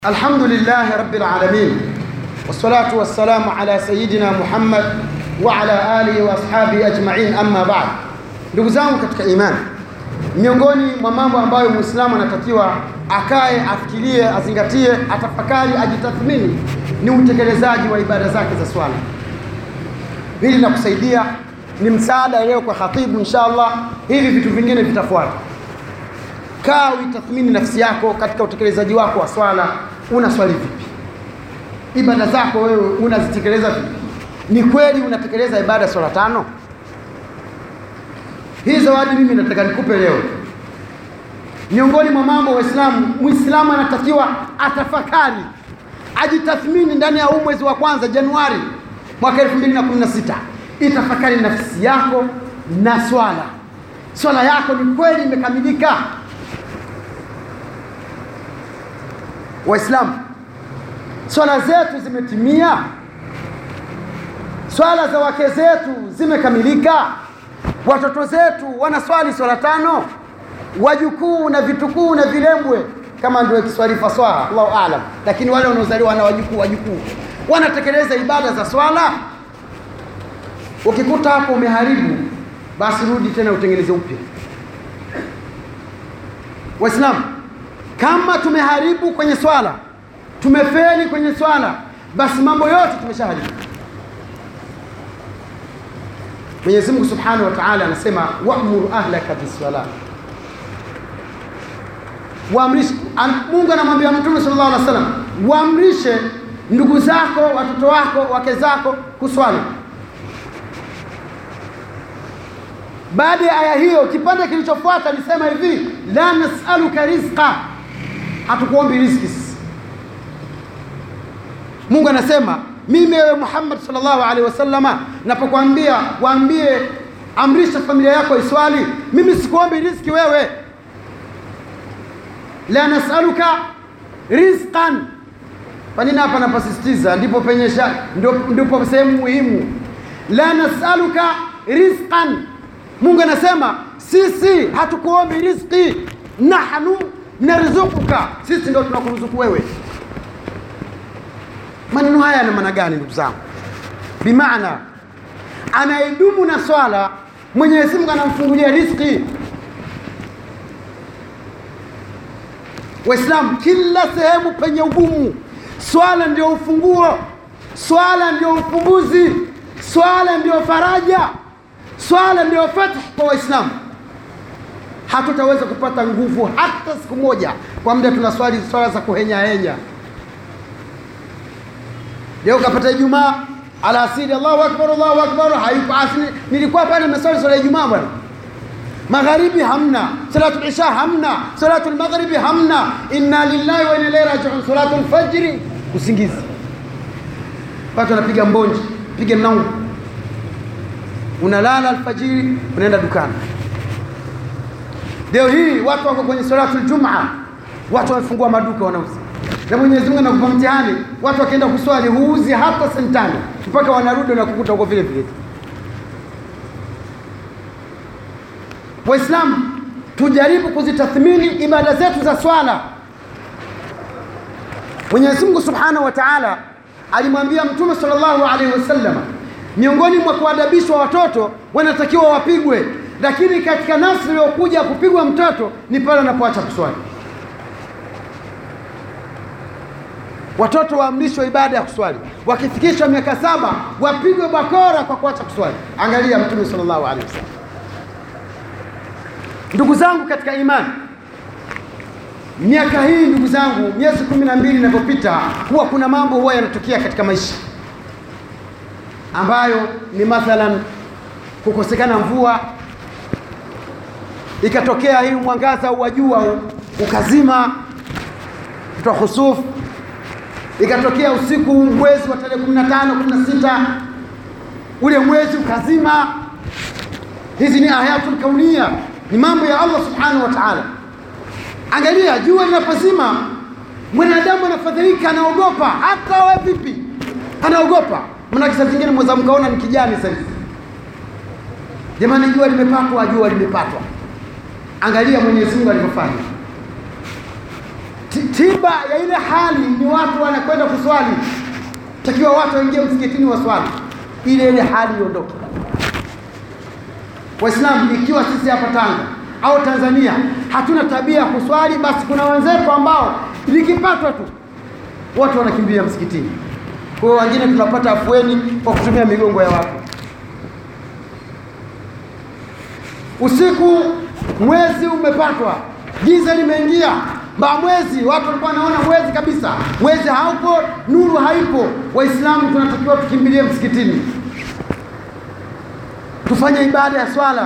الحمد لله رب العالمين والصلاة والسلام على سيدنا محمد وعلى آله وأصحابه أجمعين أما بعد. Ndugu zangu katika imani, miongoni mwa mambo ambayo Muislamu anatakiwa akae, afikirie, azingatie, atafakari, ajitathmini ni utekelezaji wa ibada zake za swala. Hili linakusaidia, ni msaada leo kwa khatibu inshallah, hivi vitu vingine vitafuata. Kaa utathmini nafsi yako katika utekelezaji wako wa swala. Unaswali vipi? Ibada zako wewe unazitekeleza vipi? Ni kweli unatekeleza ibada swala 5? Hii zawadi mimi nataka nikupe leo. Miongoni mwa mambo Muislamu anatakiwa atafakari, ajitathmini ndani ya mwezi wa kwanza Januari mwaka 2016. Itafakari nafsi yako na swala. Swala yako ni kweli imekamilika? Waislamu, swala zetu zimetimia? Swala za wake zetu zimekamilika? Watoto zetu wanaswali swala 5? Wajukuu na vitukuu na vilembwe kama ndio Kiswahili faswaha, Allahu aalam, lakini wale wanaozaliwa na wajukuu wanatekeleza ibada za swala? Ukikuta hapo umeharibu, basi rudi tena utengeneze upya. Waislamu, kama tumeharibu kwenye swala, tumefeli kwenye swala, basi mambo yote tumeshaharibu. Mwenyezi Mungu Subhanahu wa Ta'ala anasema wa'mur ahlaka bis-salah. Waamrishe, Mungu anamwambia Mtume sallallahu alaihi wasallam, waamrishe ndugu zako, watoto wako, wake zako kuswali. Baada ya aya hiyo, kipande kilichofuata alisema hivi, la nas'aluka rizqa, hatukuombi riziki. Mungu anasema mimi wewe Muhammad sallallahu alaihi wasallama napokuambia waambie amrisha familia yako iswali, mimi sikuombi riziki wewe. La nas'aluka rizqan. Kwa nini hapa napasisitiza? Ndipo penyesha, ndipo sehemu muhimu. La nas'aluka rizqan. Mungu anasema sisi hatukuombi riziki, nahnu narzuquka, sisi ndio tunakuruzuku wewe. Maneno haya yana maana gani ndugu zangu? Bimaana anaidumu na swala, Mwenyezi Mungu anamfungulia riziki. Waislamu, kila sehemu penye ugumu, swala ndio ufunguo, swala ndio ufumbuzi, swala ndio faraja, swala ndio fathu kwa Waislamu. Hatutaweza kupata nguvu hata siku moja kwa muda tunaswali swala za kuhenya. Leo kapata Ijumaa alasiri, Allahu akbar, hayupo asli. Nilikuwa pale nimeswali swala ya Ijumaa bwana. Magharibi hamna, salatu isha hamna, salatu maghribi hamna, inna lillahi wa inna ilaihi raji'un, salatu al-fajr, usingizi. Watu wanapiga mbonji, piga mnangu. Unalala alfajiri, unaenda dukani. Leo hii watu wako kwenye salatu al-Jum'a, watu wamefungua maduka wanauza. Na Mwenyezi Mungu anakupa mtihani, watu wakaenda kuswali huuzi hata sentani, mpaka wanarudi na kukuta huko vile vile. Waislamu, tujaribu kuzitathmini ibada zetu za swala. Mwenyezi Mungu Subhanahu wa Ta'ala alimwambia Mtume sallallahu alaihi wasallam, miongoni mwa kuadabishwa watoto wanatakiwa wapigwe, lakini katika nafsi iliyokuja kupigwa mtoto ni pale anapoacha kuswali. Watoto waamrishwe ibada ya kuswali, wakifikisha miaka 7 wapigwe bakora kwa kuacha kuswali. Angalia Mtume sallallahu alaihi wasallam. Ndugu zangu katika imani, miaka hii ndugu zangu, miezi 12 inapopita, huwa kuna mambo huwa yanatokea katika maisha ambayo ni mathalan kukosekana mvua, ikatokea hii mwangaza wa jua ukazima, kutoa khusufu, ikatokea usiku mwezi wa tarehe 15 16 ule mwezi ukazima. Hizi ni ayatul kaunia, ni mambo ya Allah Subhanahu wa Ta'ala. Angalia, jua linapozima, mwanadamu anafadhilika, anaogopa. Hata wewe vipi? Anaogopa. Maana saa zingine mweza mkaona ni kijani sasa. Jamani, jua limepatwa. Angalia Mwenyezi Mungu alivyofanya. tiba ya ile hali ni watu wanakwenda kuswali. Takiwa watu waingie msikitini waswali, ile hali iondoke. Waislamu, ikiwa sisi hapa Tanga au Tanzania hatuna tabia ya kuswali, basi kuna wenzetu ambao likipatwa tu watu wanakimbia msikitini. Kwa hiyo wengine tunapata afueni kwa kutumia migongo ya watu. Usiku mwezi umepatwa, giza limeingia, mwezi watu walikuwa wanaona mwezi kabisa, mwezi haupo, nuru haipo. Waislamu tunatakiwa tukimbilie msikitini, tufanye ibada ya swala.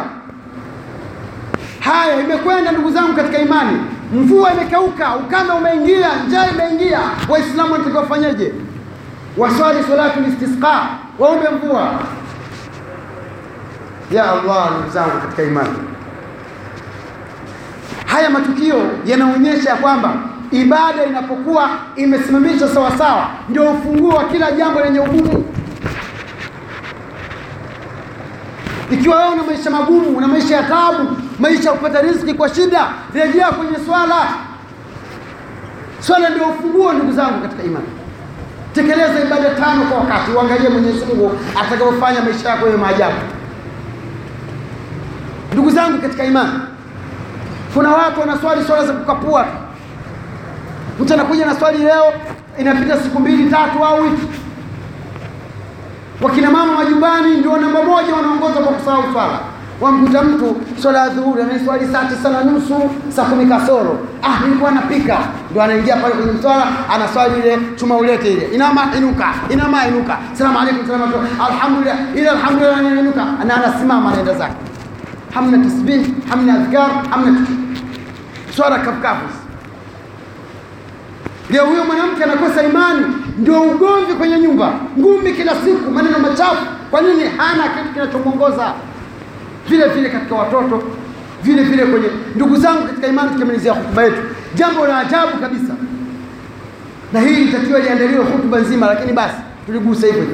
Haya imekwenda ndugu zangu katika imani, mvua imekauka, ukame umeingia, njaa imeingia. Waislamu wanatakiwa wafanyeje? Waswali salatu istisqa, waombe mvua. Ya Allah, ndugu zangu katika imani, haya matukio yanaonyesha kwamba ibada inapokuwa imesimamishwa sawa sawa ndio ufunguo wa kila jambo lenye ugumu. Ikiwa wewe una maisha magumu, una maisha ya taabu, maisha ya kupata riziki kwa shida, rejea kwenye swala. Swala ndio ufunguo ndugu zangu katika imani. Tekeleza ibada 5 kwa wakati, uangalie Mwenyezi Mungu atakapofanya maisha yako yawe maajabu. Ndugu zangu katika imani, kuna watu wanaswali swala za kukapua. Mtu anakuja na swali leo, inapita siku 2 3 au wiki. Wakina mama majumbani ndio namba 1 wanaongoza kwa kusahau swala. Wamkuta mtu swala ya dhuhuri anaswali saa 9:30, saa 10 kasoro. Nilikuwa napika. Ndio anaingia pale kwenye swala, anaswali ile chuma ulete ile. Inama inuka, inama inuka. Asalamu alaykum, salamu alaykum. Alhamdulillah, ila alhamdulillah inuka. Anasimama anaenda zake. Hamna tasbih, hamna adhkar, hamna swala kafukafu. Leo huyo mwanamke anakosa imani, ndio ugomvi kwenye nyumba, ngumi kila siku, maneno machafu. Kwa nini? Hana kitu kinachomuongoza. Vile vile katika watoto, vile vile kwenye ndugu zangu katika imani. Tukimalizia hotuba yetu, jambo la ajabu kabisa, na hii itakiwa liandaliwe hotuba nzima, lakini basi tuligusa hivyo.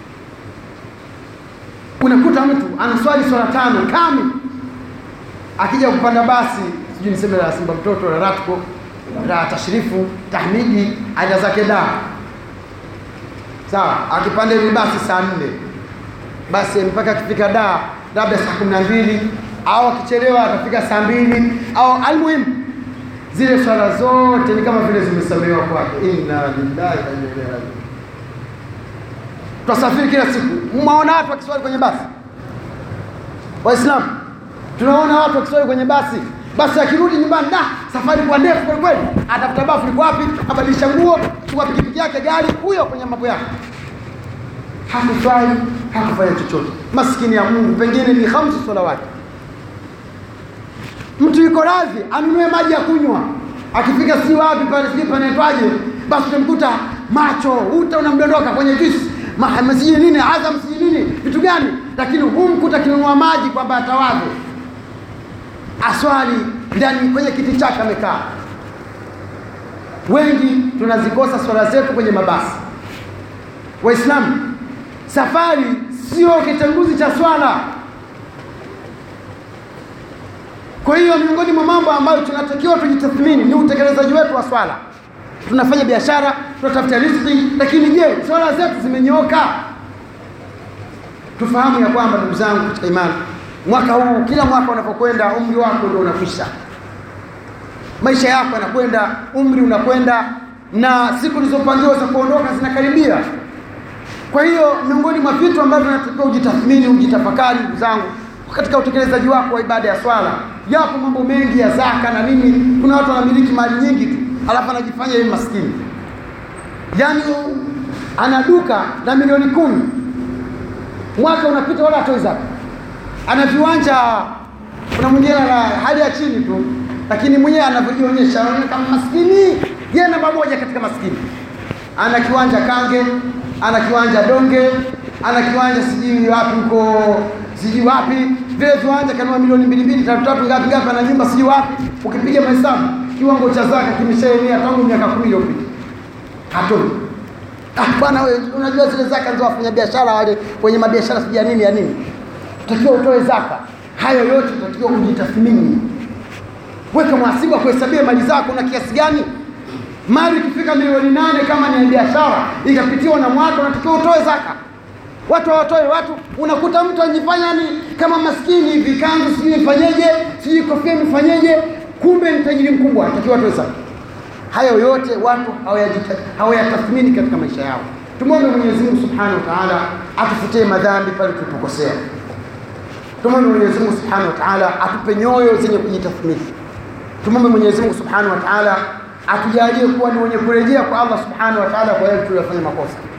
Unakuta mtu anaswali swala 5 kamili, akija kupanda basi, sijui niseme la Simba mtoto, la Ratco, la Tashrifu, Tahmidi, aida zake da. Sawa, akipanda ile basi saa 4, basi mpaka akifika da labda saa 12, au akichelewa atafika saa 2, au almuhimu zile swala zote ni kama vile zimesamehewa kwake. Inna lillahi wa inna ilaihi raji'un. Tunasafiri kila siku, mwaona watu wakiswali kwenye basi. Waislamu, tunaona watu wakiswali kwenye basi. Basi akirudi nyumbani, safari kwa ndefu kwa kweli, atafuta bafu liko wapi, abadilisha nguo, chukua pikipiki yake, gari, huyo kwenye mambo yake. Hakufai, hakufanya chochote. Maskini ya Mungu, pengine ni 5 salawati. Mtu yuko radhi anunue maji ya kunywa, akifika si wapi pale, si panaitwaje, basi utamkuta macho unamdondoka kwenye juice, mahamasi nini, Azam si nini, vitu gani, lakini humkuta kinunua maji kwamba atawadhi, aswali ndani kwenye kiti chake amekaa. Wengi tunazikosa swala zetu kwenye mabasi. Waislamu, safari sio kitenguzi cha swala. Kwa hiyo miongoni mwa mambo ambayo tunatakiwa tujitathmini ni utekelezaji wetu wa swala. Tunafanya biashara, tunatafuta riziki, lakini je, swala zetu zimenyooka? Tufahamu ya kwamba ndugu zangu katika imani, mwaka huu, kila mwaka unapokwenda, umri wako ndio unakwisha. Maisha yako yanakwenda, umri unakwenda, na siku zilizopangiwa za kuondoka zinakaribia. Kwa hiyo miongoni mwa vitu ambavyo tunatakiwa ujitathmini, ujitafakari ndugu zangu, katika utekelezaji wako wa ibada ya swala. Yapo mambo mengi ya zaka na nini. Kuna watu wanamiliki mali nyingi tu, alafu anajifanya yeye maskini. Yaani ana duka na milioni 10, mwaka unapita wala hatoi zaka. Ana viwanja, kuna mwingine na hali ya chini tu, lakini mwenyewe anavyojionyesha kama maskini. Yeye namba 1 katika maskini. Ana kiwanja Kange, ana kiwanja Donge, ana kiwanja sijui wapi huko, sijui wapi. Vile viwanja kanua milioni 2 3 ngapi ana nyumba sijui wapi. Ukipiga mahesabu, kiwango cha zaka kimeshaenea tangu miaka 10 iliyopita. Hatoi. Bwana wewe, unajua zile zaka ndio wafanya biashara wale kwenye mabiashara sijui nini ya nini. Utakiwa utoe zaka. Hayo yote utakiwa ujitathmini. Weka mhasibu kuhesabia mali zako na kiasi gani. Mali ikifika milioni 8 kama ni biashara ikapitiwa na mwaka, unatakiwa utoe zaka. Watu hawatoi. Watu unakuta mtu anajifanya ni kama maskini hivi, kanzu sijui ifanyeje, sijui kofia ifanyeje, kumbe ni tajiri mkubwa, anatakiwa atoe zaka. Hayo yote watu hawayatathmini katika maisha yao. Tumwombe Mwenyezi Mungu Subhanahu wa Ta'ala atufutie madhambi pale tulipokosea. Tumwombe Mwenyezi Mungu Subhanahu wa Ta'ala atupe nyoyo zenye kujitathmini. Tumwombe Mwenyezi Mungu Subhanahu wa Ta'ala atujalie kuwa ni wenye kurejea kwa Allah Subhanahu wa Ta'ala kwa yale tuliyofanya makosa.